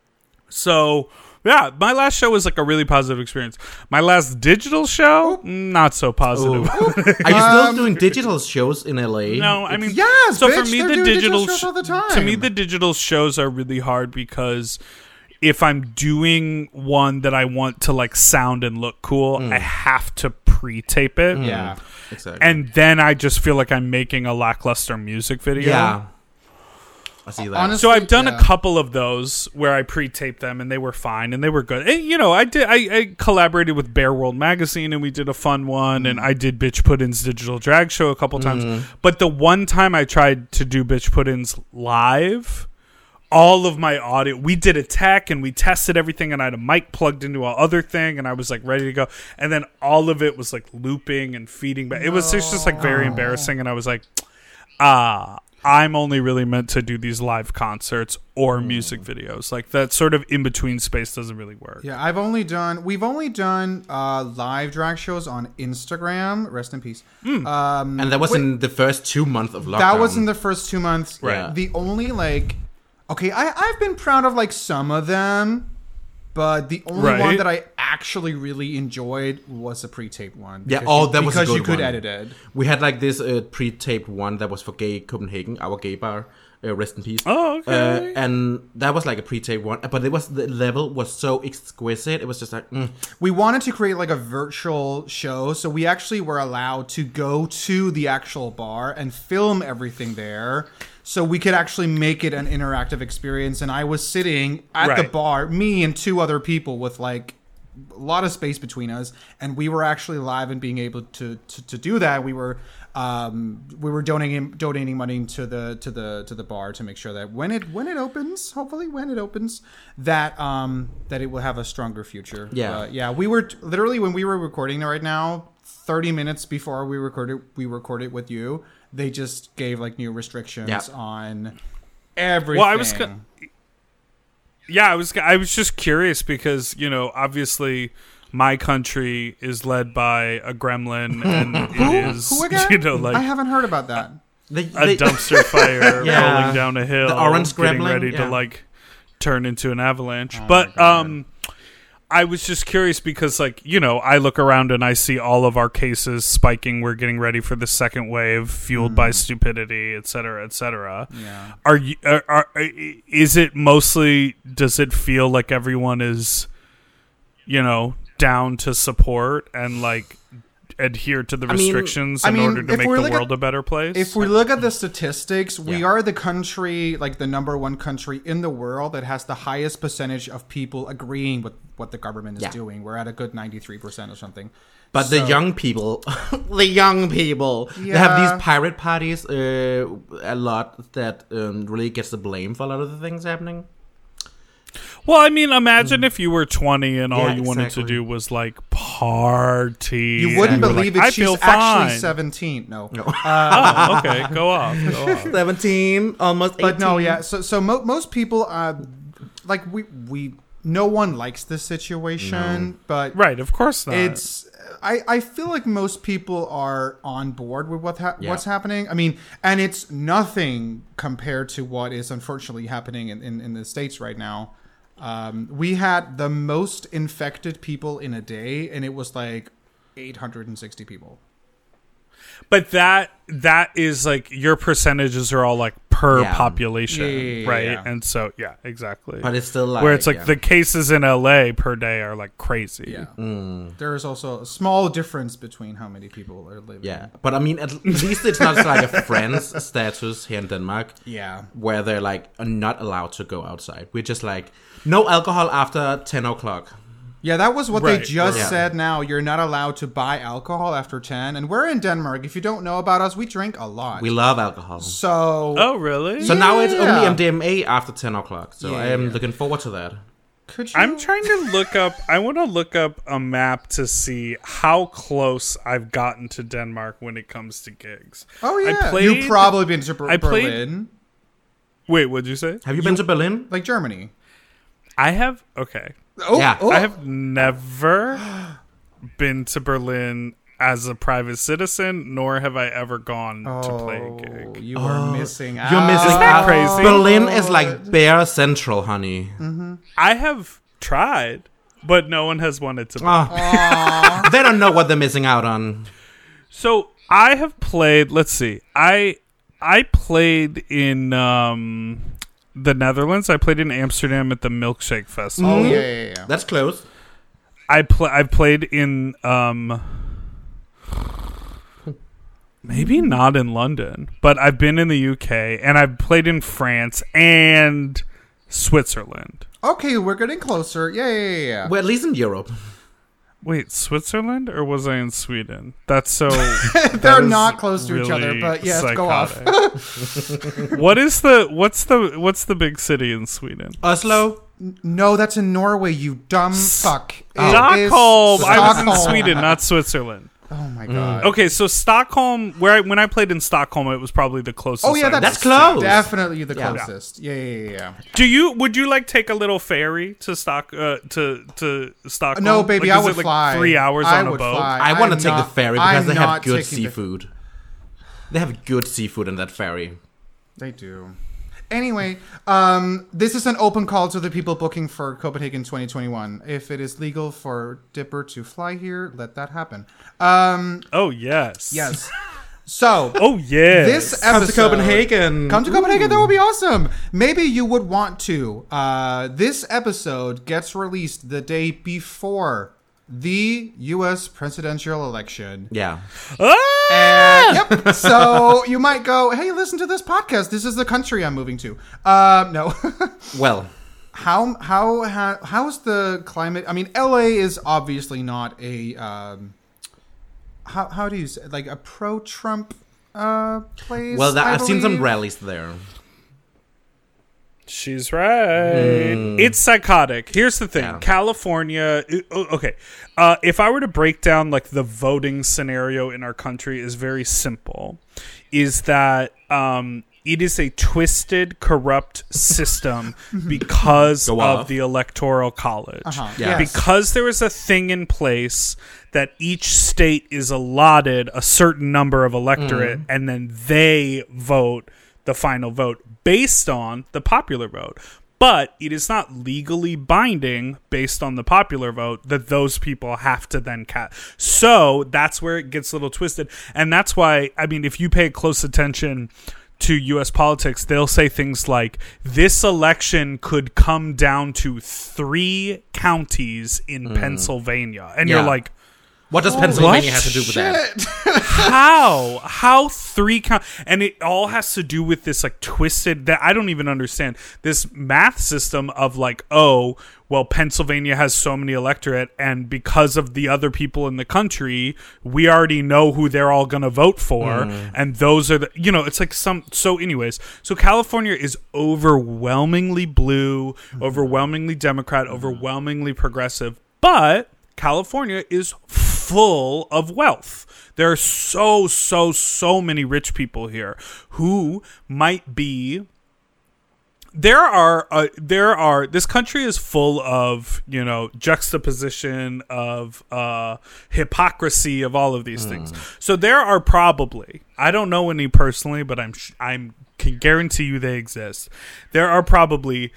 So, yeah, my last show was like a really positive experience. My last digital show, not so positive. Are you still Um, doing digital shows in L A? No, I mean, Yes, so bitch, for me, they're the doing digital, digital shows sh- all the time. to me, the digital shows are really hard because if I'm doing one that I want to like sound and look cool, I have to pre-tape it. Yeah. Exactly. And then I just feel like I'm making a lackluster music video. yeah. I see that. Honestly, So I've done yeah. a couple of those where I pre-taped them and they were fine and they were good. And you know, I did I, I collaborated with Bear World Magazine and we did a fun one and I did Bitch Puddin's digital drag show a couple times. But the one time I tried to do Bitch Puddin's live, all of my audio, we did a tech and we tested everything and I had a mic plugged into our other thing and I was like ready to go. And then all of it was like looping and feeding back. It was just, just like very embarrassing and I was like, ah, I'm only really meant to do these live concerts or music videos. Like that sort of in between space doesn't really work. Yeah, I've only done. We've only done uh, live drag shows on Instagram. Rest in peace. Um, and that was wait, in the first two months of lockdown. that was in the first two months. Right. The only like, okay, I I've been proud of like some of them, but the only Right. one that I actually really enjoyed was a pre-taped one. Yeah, because oh, you- that was a because you good could one. edit it. We had like this uh, pre-taped one that was for Gay Copenhagen, our gay bar. Uh, rest in peace. Oh, okay. Uh, and that was like a pre-taped one, but it was the level was so exquisite. It was just like, mm. We wanted to create like a virtual show, so we actually were allowed to go to the actual bar and film everything there, so we could actually make it an interactive experience. And I was sitting at the Right. bar, me and two other people with like a lot of space between us, and we were actually live and being able to to, to do that. We were um, we were donating donating money to the to the to the bar to make sure that when it when it opens, hopefully when it opens, that um that it will have a stronger future. Yeah. But yeah. We were t- literally when we were recording right now, thirty minutes before we recorded we recorded with you, they just gave like new restrictions Yeah. on everything. Well, I was go- Yeah, I was I was just curious because, you know, obviously my country is led by a gremlin and it is Who again? you know like I haven't heard about that. The, a the- dumpster fire Yeah. rolling down a hill, The orange getting gremlin, ready yeah. to like turn into an avalanche. Oh my but God. um, I was just curious because, like, you know, I look around and I see all of our cases spiking. We're getting ready for the second wave, fueled by stupidity, et cetera, et cetera. Yeah. Are you? Are, are, is it mostly? Does it feel like everyone is, you know, down to support and like adhere to the I mean- restrictions I in mean, order to if make we the look at- world a better place? If we look at the statistics, we Yeah. are the country, like the number one country in the world that has the highest percentage of people agreeing with what the government is Yeah. doing. We're at a good ninety-three percent or something. But So- the young people, the young people, they have Yeah. these pirate parties uh, a lot that um, really gets the blame for a lot of the things happening. Well, I mean, imagine if you were twenty and all Yeah, you wanted exactly. to do was like party. You wouldn't and you're believe like, it. I She's feel actually fine. seventeen. No. Oh, okay, go off. Go off. seventeen, almost eighteen. But no, yeah. So, so mo- most people, uh, like we, we, no one likes this situation, but Right, of course not. it's. I, I feel like most people are on board with what ha- Yeah. what's happening. I mean, and it's nothing compared to what is unfortunately happening in, in, in the States right now. Um, we had the most infected people in a day, and it was like eight hundred sixty people. But that that is like your percentages are all like per Yeah. population, Yeah, yeah, yeah, right? yeah. And so yeah, exactly. But it's still like Where it's like yeah. the cases in L A per day are like crazy. Yeah. Mm. There is also a small difference between how many people are living. Yeah, but I mean, at least it's not like a friends status here in Denmark. Yeah. Where they're like are not allowed to go outside. We're just like no alcohol after ten o'clock. Yeah, that was what they Right, just right. said now. You're not allowed to buy alcohol after ten. And we're in Denmark. If you don't know about us, we drink a lot. We love alcohol. so, Oh, really? So now it's only Yeah. M D M A after ten o'clock. So Yeah, I am yeah. looking forward to that. could you? I'm trying to look up. I want to look up a map to see how close I've gotten to Denmark when it comes to gigs. Oh, I yeah. played- You've probably been to Ber- I played- Berlin. Wait, what'd you say? Have you, been to Berlin? Like Germany. I have. Okay, Oh, Yeah. oh. I have never been to Berlin as a private citizen, nor have I ever gone to play a Oh, gig. you are missing out. You're missing Isn't that out. crazy? Berlin is like Bear Central, honey. I have tried, but no one has wanted to. Oh. They don't know what they're missing out on. So I have played. Let's see. I I played in um, the Netherlands. I played in Amsterdam at the Milkshake Festival. Oh, yeah, yeah, yeah. That's close. I play. I've played in um, maybe not in London, but I've been in the U K and I've played in France and Switzerland. Okay, we're getting closer. Yeah, yeah, yeah, yeah. Well, at least in Europe. Wait, Switzerland or was I in Sweden? That's so. They're that is not close to each other, really but yes, go off. psychotic. What is the what's the what's the big city in Sweden? Oslo. No, that's in Norway, you dumb fuck. It is Stockholm. I was in Stockholm. Sweden, not Switzerland. Oh my god. Okay, so Stockholm. Where I, when I played in Stockholm, it was probably the closest. Oh yeah, I that's, That's close. Definitely the Yeah. closest. Yeah, yeah, yeah. yeah. Do you would you like take a little ferry to Stock uh, to to Stockholm? No, baby, Like, I is would it like fly. Three hours I on a would boat. fly. I want to I'm take not- the ferry because I'm they have not good taking the- seafood. They have good seafood in that ferry. They do. Anyway, um, this is an open call to the people booking for Copenhagen twenty twenty-one. If it is legal for Dipper to fly here, let that happen. Um, Oh yes, yes. So, Oh yes. this Come episode, to Copenhagen. Come to Copenhagen. That would be awesome. Maybe you would want to. Uh, this episode gets released the day before the U S presidential election. Yeah. Ah! And, yep. So you might go, hey, listen to this podcast. This is the country I'm moving to. Um, no. Well, how how how how's the climate? I mean, L A is obviously not a um, how how do you say, like a pro-Trump uh place? well, that, I I've seen some believe? rallies there. She's right. It's psychotic. Here's the thing. Yeah. California. uh, Okay. Uh, if I were to break down like the voting scenario in our country is very simple. Is that um, it is a twisted, corrupt system because Go of off. the Electoral College. Uh-huh. Yeah. Yes. Because there is a thing in place that each state is allotted a certain number of electorate, mm. and then they vote the final vote based on the popular vote. But it is not legally binding based on the popular vote that those people have to then cast. So that's where it gets a little twisted. And that's why, I mean, if you pay close attention to U S politics, they'll say things like, this election could come down to three counties in mm. Pennsylvania. And yeah. you're like, what does Pennsylvania have to do with that? How? How three count? And it all has to do with this like twisted, that I don't even understand, this math system of like, oh, well, Pennsylvania has so many electorate, and because of the other people in the country, we already know who they're all going to vote for. Mm. And those are the, you know, it's like some, so anyways, so California is overwhelmingly blue, mm. overwhelmingly Democrat, mm. overwhelmingly progressive, but California is full of wealth. There are so, so, so many rich people here who might be. There are, uh, there are. This country is full of, you know, juxtaposition of uh, hypocrisy of all of these mm. things. So there are probably, I don't know any personally, but I'm, I'm can guarantee you they exist. There are probably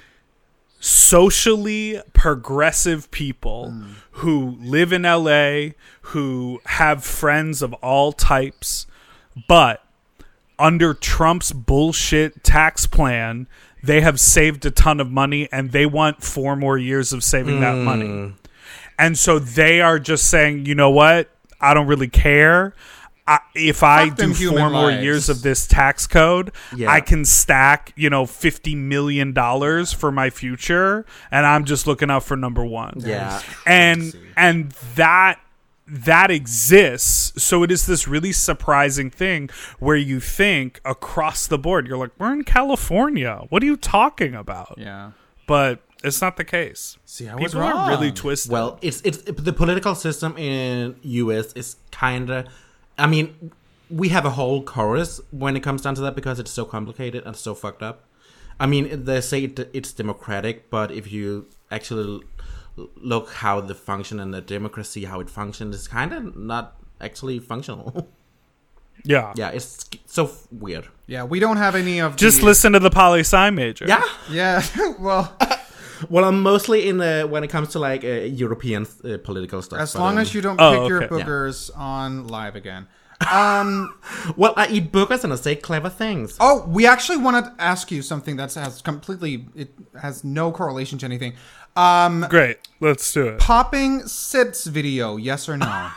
socially progressive people mm. who live in L A, who have friends of all types, but under Trump's bullshit tax plan, they have saved a ton of money and they want four more years of saving mm. that money. And so they are just saying, you know what? I don't really care. I, if I do four more lives. years of this tax code, yeah. I can stack, you know, fifty million dollars for my future, and I'm just looking out for number one. Yeah. And and that that exists. So it is this really surprising thing where you think across the board, you're like, we're in California. What are you talking about? Yeah. But it's not the case. See, I People was wrong. are really twisted. Well, it's it's the political system in U S is kind of, I mean, we have a whole chorus when it comes down to that because it's so complicated and so fucked up. I mean, they say it, it's democratic, but if you actually look how the function and the democracy, how it functions, it's kind of not actually functional. Yeah. Yeah, it's so f- weird. Yeah, we don't have any of Just the... listen to the poli-sci major. Yeah. Yeah, well... Well, I'm mostly in the, when it comes to like uh, European uh, political stuff. As long um, as you don't oh, pick okay. your boogers yeah. on live again. Um, well, I eat boogers and I say clever things. Oh, we actually want to ask you something that has completely, it has no correlation to anything. Um, Great, let's do it. Popping Sits video, yes or no?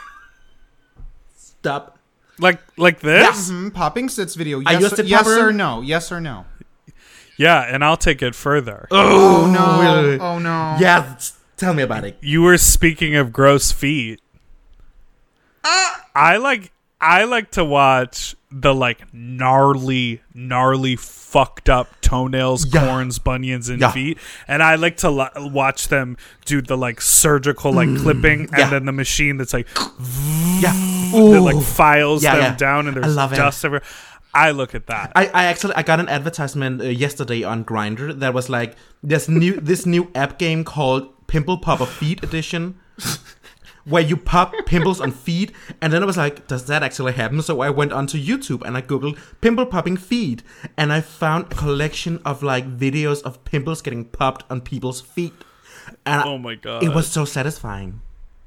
Stop. Like like this? Yes. Mm-hmm. Popping Sits video, I yes, used or, to yes pop or in. no? Yes or no? Yeah, and I'll take it further. Oh, no. Oh, no. Yeah, tell me about it. You were speaking of gross feet. Uh, I like I like to watch the like gnarly, gnarly, fucked up toenails, yeah. corns, bunions, and yeah. feet, and I like to lo- watch them do the like surgical like mm, clipping, and yeah. then the machine that's like, yeah, that like files yeah, them yeah. down, and there's dust everywhere. I look at that. I, I actually I got an advertisement uh, yesterday on Grindr that was like this new this new app game called Pimple Popper Feet Edition, where you pop pimples on feet, and then I was like, does that actually happen? So I went onto YouTube and I googled pimple popping feet, and I found a collection of like videos of pimples getting popped on people's feet. And oh my god, it was so satisfying.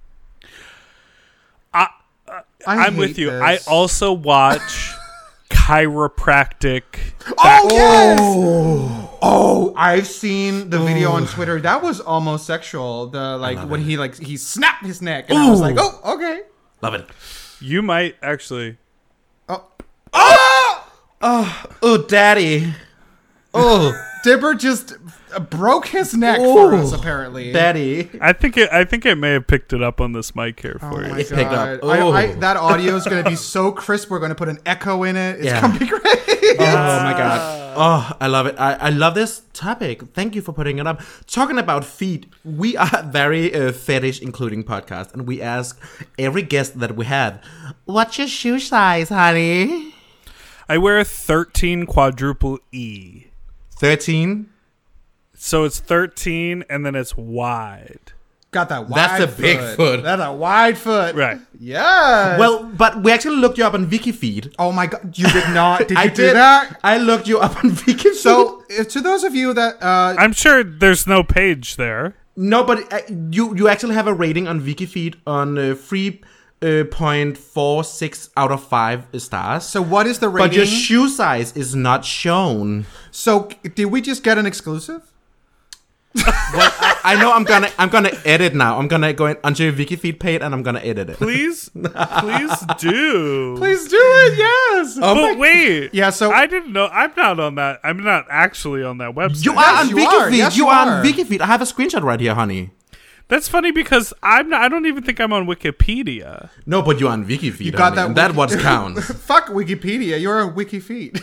I, uh, I I'm with you. This. I also watch chiropractic. Oh yes! Oh, oh, I've seen the video on Twitter. That was almost sexual. The like when it. he like he snapped his neck, and Ooh. I was like, oh, okay, love it. You might actually. Oh, oh, oh, oh, daddy. Oh, Dipper just broke his neck Ooh, for us. Apparently, daddy. I think it. I think it may have picked it up on this mic here for oh you. My it picked up. I, I, that audio is going to be so crisp. We're going to put an echo in it. It's yeah. going to be great. Oh my god. Oh, I love it. I, I love this topic. Thank you for putting it up. Talking about feet, we are very uh, fetish including podcast, and we ask every guest that we have, what's your shoe size, honey? I wear a thirteen quadruple E. thirteen? So it's thirteen and then it's wide. Got that wide That's a foot. big foot. That's a wide foot. Right. Yes. Well, but we actually looked you up on WikiFeed. oh my god, you did not. Did you I do did that? I looked you up on WikiFeed. So, if, to those of you that uh, I'm sure there's no page there. no, but uh, you you actually have a rating on WikiFeed on uh, three point four six out of five stars. so what is the rating? But your shoe size is not shown. so, did we just get an exclusive? Well, I, I know I'm gonna I'm gonna edit now. I'm gonna go in, onto your WikiFeed page and I'm gonna edit it. Please, please do. Please do it. Yes. Oh my- But wait. Yeah, so- I didn't know. I'm not on that. I'm not actually on that website. You are Yes, on you WikiFeed. are. Yes, you you are are. on WikiFeed. I have a screenshot right here, honey. That's funny because I'm not, I don't even think I'm on Wikipedia. No, but you're on WikiFeed. You got honey, that and that Wiki- what counts. Fuck Wikipedia. You're on WikiFeed.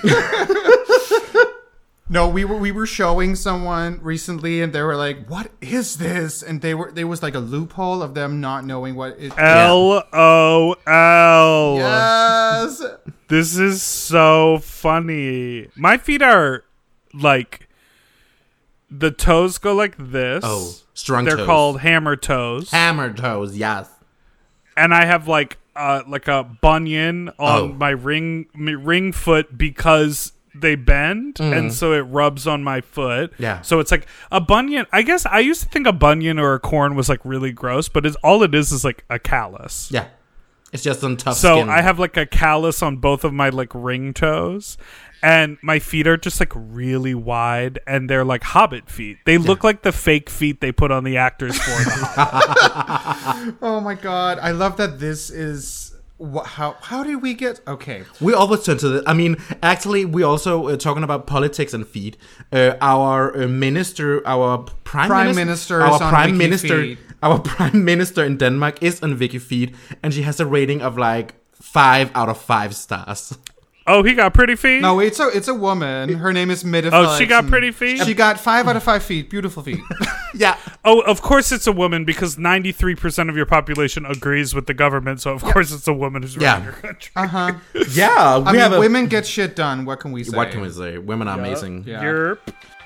No, we were we were showing someone recently, and they were like, "What is this?" And they were there was like a loophole of them not knowing what it. L O L. Yes. This is so funny. My feet are like the toes go like this. Oh, strong They're toes. called hammer toes. hammer toes. Yes. And I have like uh like a bunion on Oh. my ring my ring foot because they bend and so it rubs on my foot. Yeah. So it's like a bunion. I guess I used to think a bunion or a corn was like really gross, but it's all it is is like a callus. Yeah. It's just some tough So skin. I have like a callus on both of my like ring toes, and my feet are just like really wide, and they're like hobbit feet. They look like the fake feet they put on the actors for them. Oh my god, I love that. This is wh- how how did we get? Okay, We always turn to the. I mean, actually, we also uh, talking about politics and feed. Uh, our uh, minister, our prime, Prime minister, minister our is on prime WikiFeed. minister, our prime minister in Denmark is on WikiFeed, and she has a rating of like five out of five stars. Oh, he got pretty feet? no, it's a it's a woman. Her name is Midda. Oh, she got Felix, pretty and feet? She got five out of five feet. Beautiful feet. Yeah, Oh, of course it's a woman because ninety-three percent of your population agrees with the government, so of course it's a woman who's running Yeah. your country. Uh huh. yeah. We I mean, have a, women get shit done. What can we say? What can we say? Women are amazing. Yeah. Yerp.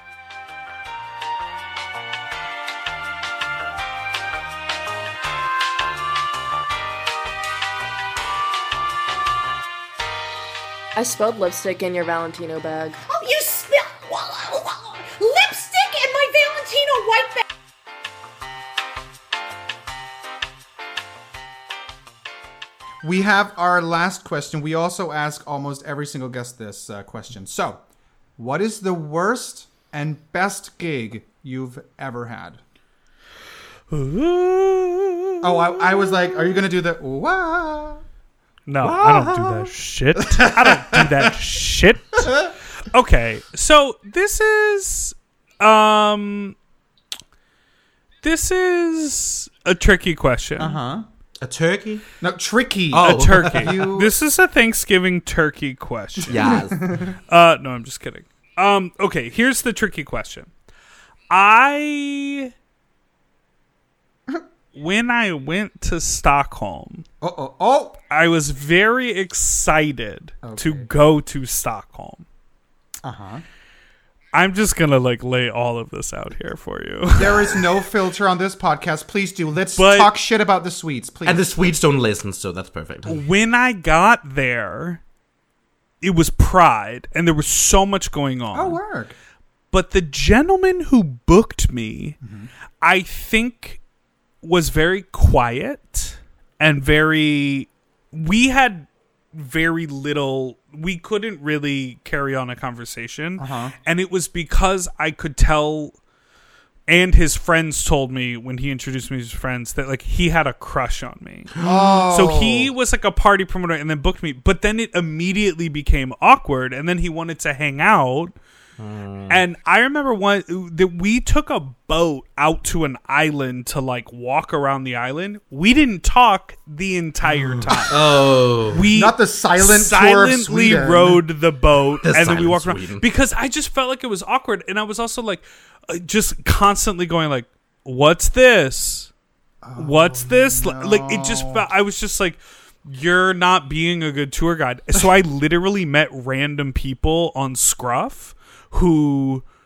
I spilled lipstick in your Valentino bag. Oh, you spill lipstick in my Valentino white bag. We have our last question. We also ask almost every single guest this uh, question. So, what is the worst and best gig you've ever had? Oh, I, I was like, are you going to do the wah? No, I don't do that shit. I don't do that shit. Okay, so this is um this is a tricky question. Uh-huh. A turkey? No, tricky. Oh. A turkey. You- This is a Thanksgiving turkey question. Yes. Uh no, I'm just kidding. Um okay, here's the tricky question. I when I went to Stockholm, Oh, oh, oh. I was very excited to Okay. go to Stockholm. Uh-huh. I'm just gonna like lay all of this out here for you. There is no filter on this podcast. Please do. Let's But- talk shit about the sweets, please. And the Swedes don't listen, so that's perfect. When I got there, it was Pride, and there was so much going on. oh, work. But the gentleman who booked me, I think, was very quiet and very. We had very little. We couldn't really carry on a conversation, Uh-huh. and it was because I could tell. And his friends told me when he introduced me to his friends that like he had a crush on me. Oh. So he was like a party promoter and then booked me. But then it immediately became awkward. And then he wanted to hang out. And I remember one that we took a boat out to an island to like walk around the island. We didn't talk the entire time. Oh. We Not the silent tour of silently Sweden. rode the boat The and then we silent walked around Sweden. because I just felt like it was awkward. And I was also like, uh, just constantly going like, "What's this? What's this?" Li- Like it just felt. I was just like, "You're not being a good tour guide." So I literally met random people on Scruff who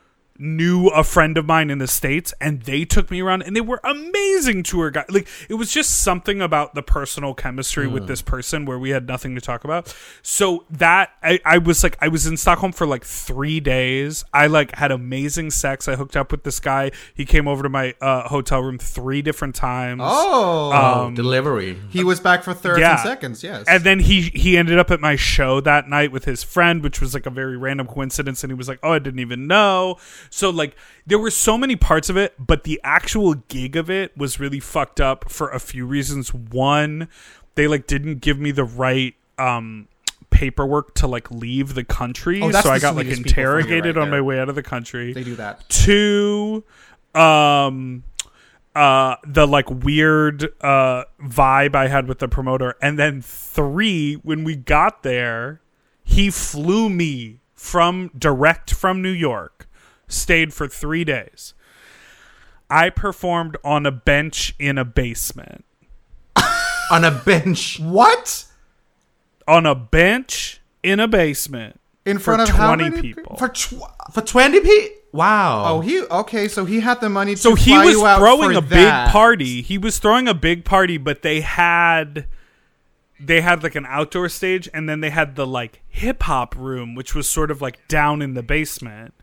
knew a friend of mine in the States, and they took me around, and they were amazing tour guides. Like, it was just something about the personal chemistry mm. with this person where we had nothing to talk about. So that I, I was like, I was in Stockholm for like three days. I like had amazing sex. I hooked up with this guy. He came over to my uh, hotel room three different times. Oh, um, delivery. He was back for thirds yeah. and seconds. Yes, and then he he ended up at my show that night with his friend, which was like a very random coincidence. And he was like, "Oh, I didn't even know." So like there were so many parts of it, but the actual gig of it was really fucked up for a few reasons. One, they like didn't give me the right um paperwork to like leave the country, oh, so I got like interrogated right on there. my way out of the country. They do that. Two, um uh the like weird uh vibe I had with the promoter. And then three, when we got there, he flew me from direct from New York, stayed for three days. I performed on a bench in a basement. On a bench. What? On a bench in a basement In front for of how twenty many people. For tw- For twenty people? Wow. Oh, he okay. So he had the money. To So he fly was you out throwing for a that. big party. He was throwing a big party, but they had they had like an outdoor stage, and then they had the like hip hop room, which was sort of like down in the basement.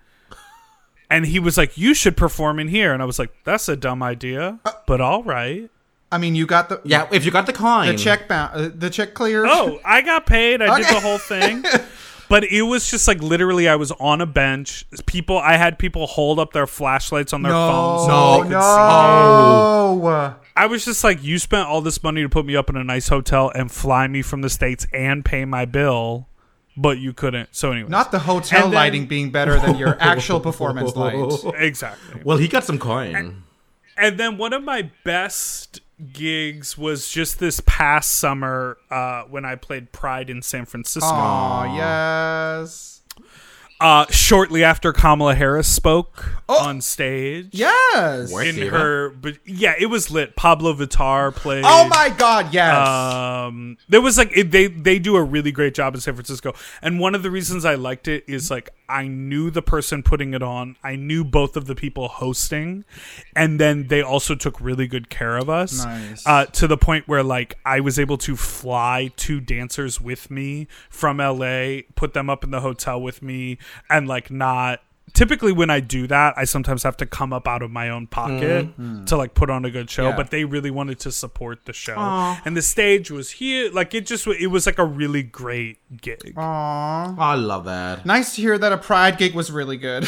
And he was like, "You should perform in here." And I was like, "That's a dumb idea, but all right." I mean, you got the Yeah, if you got the coin. the check bound uh, the check cleared. Oh, I got paid. I did Okay. the whole thing. But it was just like literally I was on a bench. People I had people hold up their flashlights on their no, phones so No, they could no. see. Oh. I was just like, you spent all this money to put me up in a nice hotel and fly me from the States and pay my bill, but you couldn't. So anyway. Not the hotel And then- lighting being better than your actual performance light. Exactly. Well, he got some coin. And then one of my best gigs was just this past summer uh, when I played Pride in San Francisco. Oh yes. Uh, shortly after Kamala Harris spoke Oh. on stage. Yes. Where- In See her, but yeah, it was lit. Pablo Vittar played. Oh my God! Yes. Um, there was like it, they they do a really great job in San Francisco, and one of the reasons I liked it is like I knew the person putting it on, I knew both of the people hosting, and then they also took really good care of us. Nice. Uh, to the point where like I was able to fly two dancers with me from L A, put them up in the hotel with me, and like not. Typically when I do that, I sometimes have to come up out of my own pocket mm-hmm. to like put on a good show, Yeah. but they really wanted to support the show. Aww. And the stage was here. Like it just, it was like a really great gig. Aww. Oh, I love that. Nice to hear that a Pride gig was really good.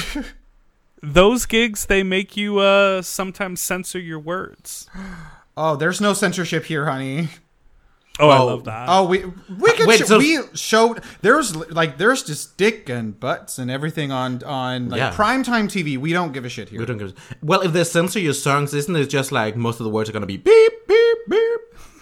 Those gigs, they make you uh, sometimes censor your words. Oh, there's no censorship here, honey. Oh, I Oh. love that. Oh, we we could Wait, sh- so- we showed there's like there's just dick and butts and everything on on like Yeah. primetime T V. We don't give a shit here. We don't give a- Well, if they censor your songs, isn't it just like most of the words are going to be beep, beep, beep?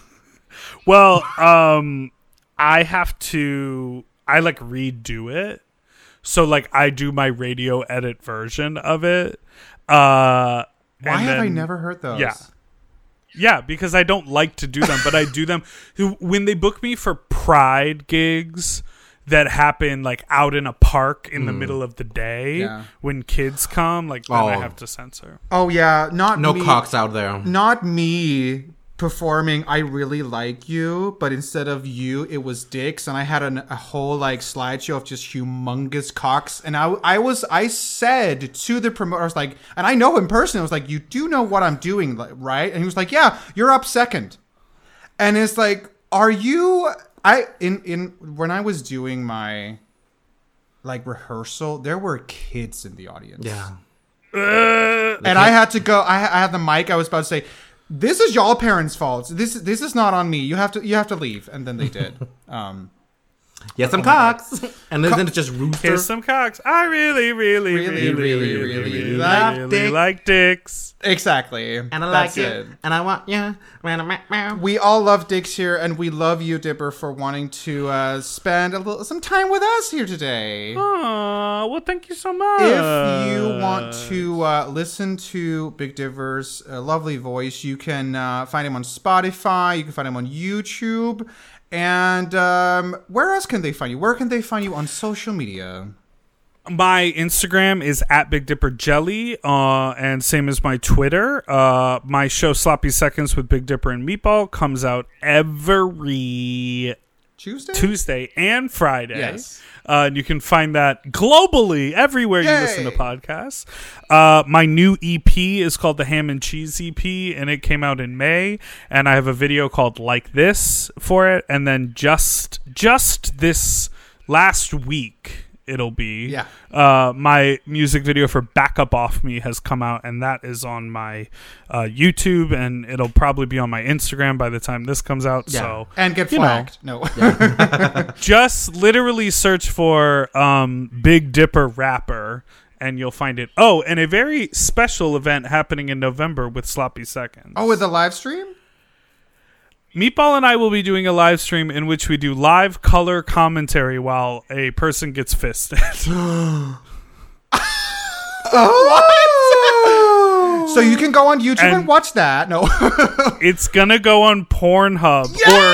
Well, um, I have to, I like redo it. So like I do my radio edit version of it. Uh, Why and have I then- never heard those? Yeah. Yeah, because I don't like to do them, but I do them when they book me for Pride gigs that happen like out in a park in the middle of the day Yeah. when kids come. Like then I Oh. have to censor. Oh yeah, not No me, cocks out there. Not me performing I Really Like You, but instead of you, it was dicks, and I had an, a whole like slideshow of just humongous cocks, and I I was I said to the promoter, I was like, and I know him personally, I was like, you do know what I'm doing, like, right? And he was like, yeah, you're up second, and it's like, are you? I in in when I was doing my like rehearsal, there were kids in the audience. Yeah. And I had to go. I, I had the mic. I was about to say, "This is y'all parents' fault. This this is not on me. You have to you have to leave." And then they did. Um, Yeah, some cocks. And then, then it's just rooster. Here's some cocks. I really, really, Really, really, really, really, really really, like really dick. like dicks. exactly. And I That's like it. it. And I want yeah. We all love dicks here, and we love you, Dipper, for wanting to uh, spend a little some time with us here today. Aw, well, thank you so much. If you want to uh, listen to Big Diver's uh, lovely voice, you can uh, find him on Spotify. You can find him on YouTube. And um, where else can they find you? Where can they find you on social media? My Instagram is at Big Dipper Jelly, uh, and same as my Twitter. Uh, my show Sloppy Seconds with Big Dipper and Meatball comes out every Tuesday? Tuesday and Friday. Yes. Uh, and you can find that globally everywhere you Yay. listen to podcasts. Uh, my new E P is called the Ham and Cheese E P, and it came out in May. And I have a video called Like This for it. And then just just this last week, it'll be Yeah. uh, my music video for Back Up Off Me has come out, and that is on my uh, YouTube, and it'll probably be on my Instagram by the time this comes out. Yeah. So And get you know. flagged. No. just literally search for um, Big Dipper Rapper, and you'll find it. Oh, and a very special event happening in November with Sloppy Seconds. Oh, with the live stream? Meatball and I will be doing a live stream in which we do live color commentary while a person gets fisted. Oh! So you can go on YouTube and, And- watch that. No. It's gonna go on Pornhub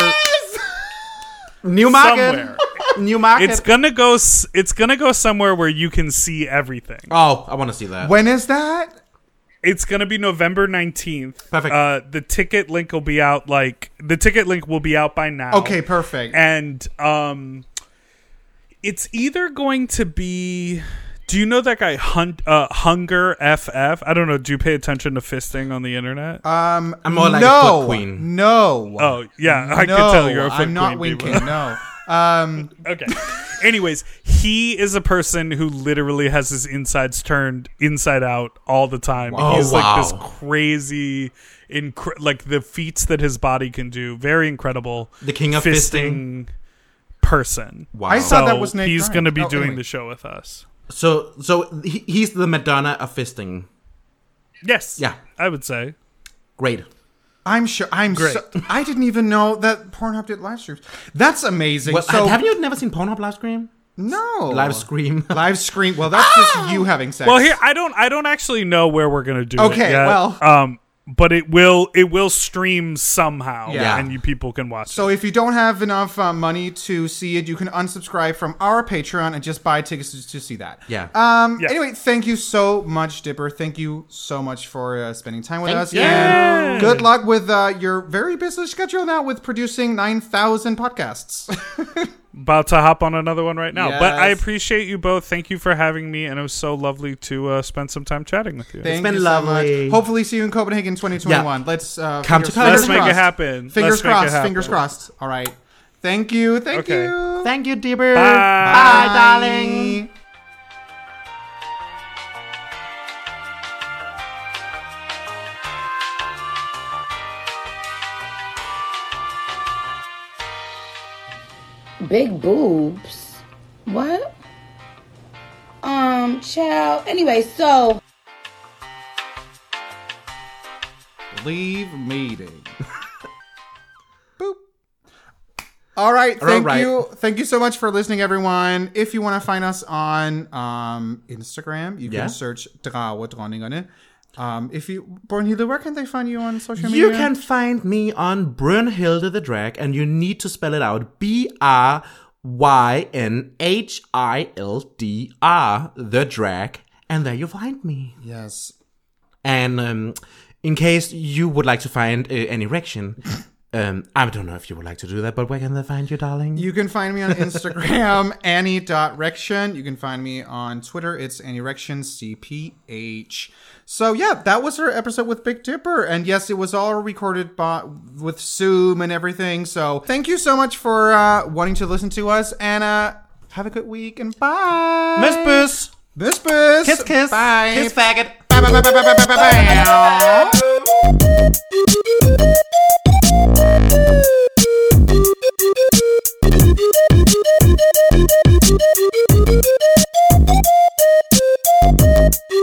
New or market. somewhere. New market. It's gonna go. s- It's gonna go somewhere where you can see everything. oh, I want to see that. When is that? It's gonna be November nineteenth. Perfect. Uh, the ticket link will be out. Like the ticket link will be out by now. Okay, perfect. And um, it's either going to be. Do you know that guy Hunt uh, Hunger F F? I don't know. Do you pay attention to fisting on the internet? Um, I'm more like a no, foot queen. No. oh yeah, I no, can tell you're a foot I'm not queen, winking. Diva. No. Um, Okay. Anyways, he is a person who literally has his insides turned inside out all the time. Wow. He's Oh, like this wow. crazy, incre- like the feats that his body can do. Very incredible. The king of fisting. person. Wow. I So thought that was Nate he's Grimes. going to be Oh, doing anyway. the show with us. So, so he, he's the Madonna of fisting. Yes. Yeah. I would say. Great. I'm sure. I'm. Great. So, I didn't even know that Pornhub did live streams. That's amazing. Well, so have you never seen Pornhub live stream? no Live scream. live screen. Well, that's just you having sex. Well, here I don't I don't actually know where we're going to do it Okay, yet. well. um but it will it will stream somehow Yeah. and you people can watch So it. if you don't have enough uh, money to see it, you can unsubscribe from our Patreon and just buy tickets to, to see that. Yeah. Um. Yeah. Anyway, thank you so much, Dipper. Thank you so much for uh, spending time with Thank us. you. And good luck with uh, your very busy schedule now with producing nine thousand podcasts. About to hop on another one right now. But I Yes. appreciate you both. Thank you for having me, and it was so lovely to uh, spend some time chatting with you. Thank been you so lovely. much. Hopefully, see you in Copenhagen twenty twenty-one. Let's uh, Come fingers- to fingers Let's make it crossed. happen. Fingers Let's make it crossed. happen. Fingers crossed. All right. Thank you. Thank Okay. you. Thank you, Dipper. Bye. Bye, darling. Big boobs. What? Um, child. Anyway, so Leave meeting. Boop. All right. Thank right. you. Thank you so much for listening, everyone. If you want to find us on um, Instagram, you Yeah. can search Drawe Dronningerne. Um, if you, Bornhilde, where can they find you on social media? You can find me on Brynhilde the Drag, and you need to spell it out. B R Y N H I L D R, the Drag. And there you find me. Yes. And um, in case you would like to find uh, an erection, um, I don't know if you would like to do that, but where can they find you, darling? You can find me on Instagram, Annie dot Rection. You can find me on Twitter. It's AnnieRection C P H. So yeah, that was our episode with Big Dipper. And yes, it was all recorded by, with Zoom and everything. So thank you so much for uh, wanting to listen to us. And uh, have a good week and bye. Miss Bus. Miss Bus. Kiss, kiss. Bye. Kiss, faggot. Bye, bye, bye, bye, bye, bye, bye, bye.